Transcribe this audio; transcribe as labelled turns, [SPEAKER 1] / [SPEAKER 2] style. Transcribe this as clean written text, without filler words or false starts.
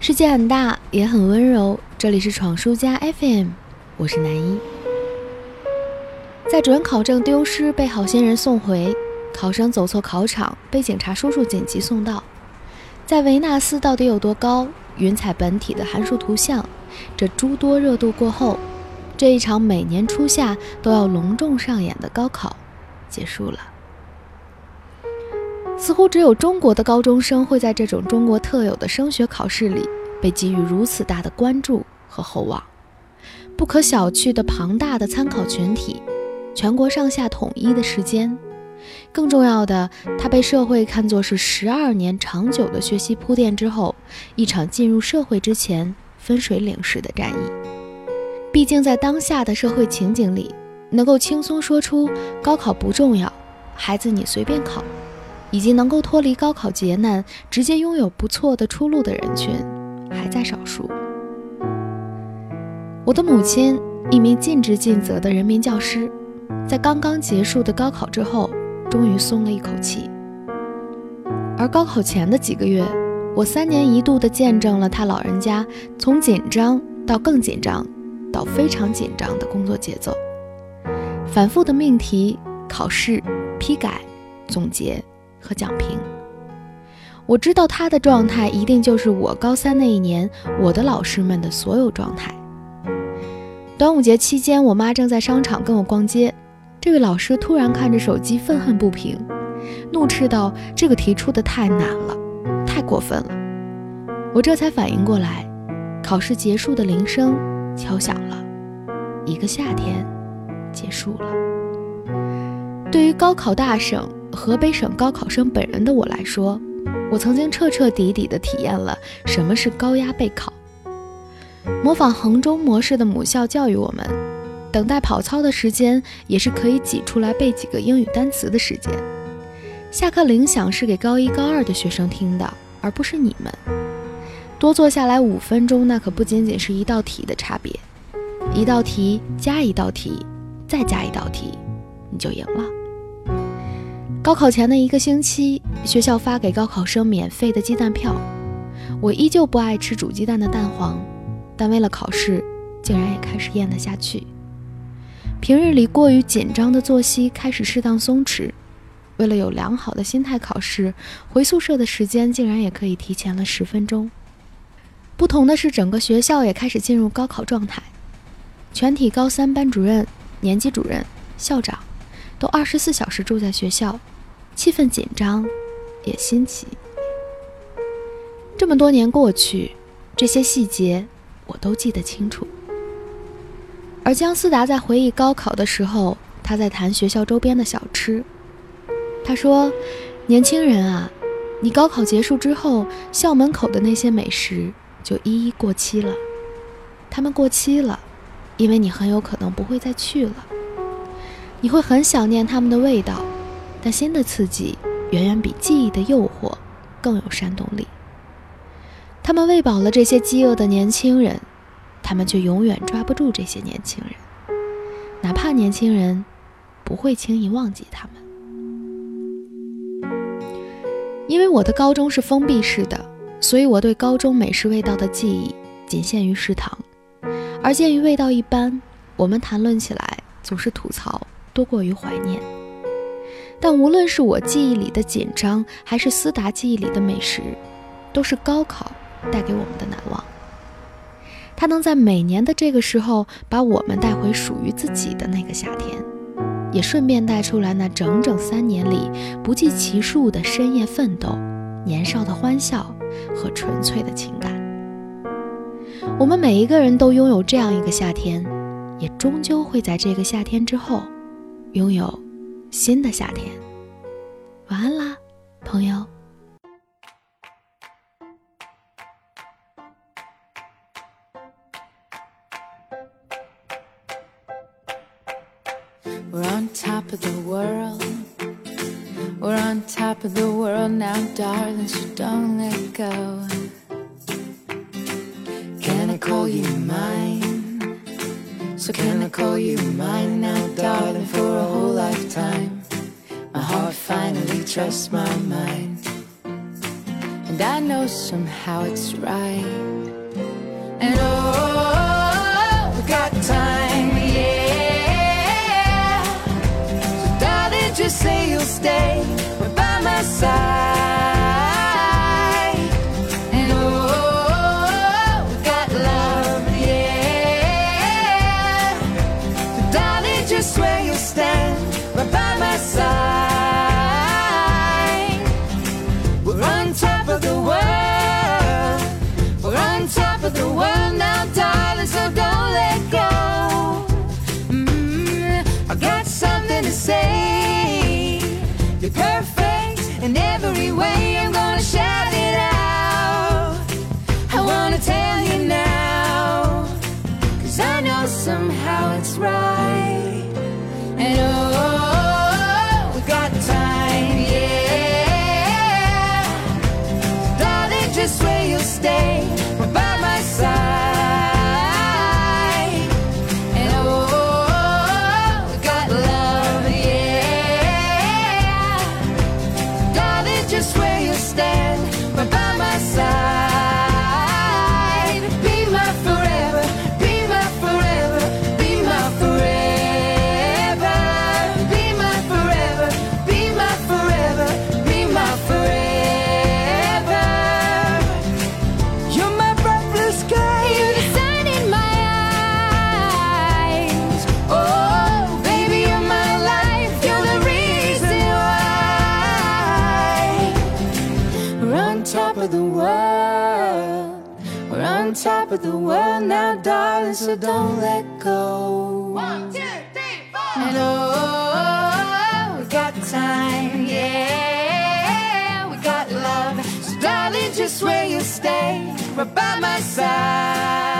[SPEAKER 1] 世界很大，也很温柔。这里是闯书家 FM， 我是南一。在主任考证丢失被好心人送回，考生走错考场被警察叔叔紧急送到，在维纳斯到底有多高，云彩本体的函数图像，这诸多热度过后，这一场每年初夏都要隆重上演的高考结束了。似乎只有中国的高中生会在这种中国特有的升学考试里被给予如此大的关注和厚望。不可小觑的庞大的参考群体，全国上下统一的时间，更重要的，它被社会看作是12年长久的学习铺垫之后，一场进入社会之前分水岭式的战役。毕竟在当下的社会情景里，能够轻松说出高考不重要，孩子你随便考，以及能够脱离高考劫难，直接拥有不错的出路的人群还在少数。我的母亲，一名尽职尽责的人民教师，在刚刚结束的高考之后，终于松了一口气。而高考前的几个月，我3年1度地见证了他老人家从紧张到更紧张到非常紧张的工作节奏，反复的命题、考试、批改、总结和讲评。我知道他的状态一定就是我高3那一年我的老师们的所有状态。端午节期间，我妈正在商场跟我逛街，这位老师突然看着手机愤恨不平，怒斥道：这个题出的太难了，太过分了。我这才反应过来，考试结束的铃声敲响了，一个夏天结束了。对于高考大省河北省高考生本人的我来说，我曾经彻彻底底地体验了什么是高压备考。模仿衡中模式的母校教育我们，等待跑操的时间也是可以挤出来背几个英语单词的时间。下课铃响是给高1高2的学生听的，而不是你们。多坐下来5分钟，那可不仅仅是一道题的差别，一道题加一道题再加一道题，你就赢了。高考前的1个星期，学校发给高考生免费的鸡蛋票。我依旧不爱吃煮鸡蛋的蛋黄，但为了考试，竟然也开始咽得下去。平日里过于紧张的作息开始适当松弛，为了有良好的心态考试，回宿舍的时间竟然也可以提前了10分钟。不同的是，整个学校也开始进入高考状态，全体高3班主任、年级主任、校长都24小时住在学校，气氛紧张也新奇。这么多年过去，这些细节我都记得清楚。而姜思达在回忆高考的时候，他在谈学校周边的小吃。他说：年轻人啊，你高考结束之后，校门口的那些美食就一一过期了。他们过期了，因为你很有可能不会再去了。你会很想念他们的味道，但新的刺激远远比记忆的诱惑更有煽动力。他们喂饱了这些饥饿的年轻人，他们却永远抓不住这些年轻人，哪怕年轻人不会轻易忘记他们。因为我的高中是封闭式的，所以我对高中美食味道的记忆仅限于食堂，而鉴于味道一般，我们谈论起来总是吐槽多过于怀念。但无论是我记忆里的紧张，还是思达记忆里的美食，都是高考带给我们的难忘。它能在每年的这个时候把我们带回属于自己的那个夏天，也顺便带出来那整整3年里不计其数的深夜奋斗、年少的欢笑和纯粹的情感。我们每一个人都拥有这样一个夏天，也终究会在这个夏天之后拥有新的夏天。晚安啦，朋友。
[SPEAKER 2] We're on top of the world. We're on top of the world now, darling, so don't let go. Can I call you mine? So can I call you mine now, darling, for a whole lifetime? My heart finally trusts my mind, and I know somehow it's right. And oh, we got time, yeah. So darling, just say you'll stay right by my side. And oh, we got love, yeah. So darling, just swear you'll stand right by my side. We're on top of the world. We're on top of the world now, darling, so don't let go. I got something to say. You're perfect in every way. I'm gonna shout it out. I wanna tell you now, 'cause I know somehow it's right. And oh, we got time, yeah. Darling, just swear you'll stay right by my side. And oh, we got love, yeah. Darling, just swear you'll stand right by my side. Be my forever, be my forever, be my forever. Be my forever, be my forever, be my forever. You're my bright blue sky, you're the sun in my eyes. Oh, baby, you're my life, you're the reason why. We're on top of the world. We're on top of the world now, darling, so don't let go. 1, 2, 3, 4. And oh, we got time, yeah. We got love, so darling, just swear you'll stay right by my side.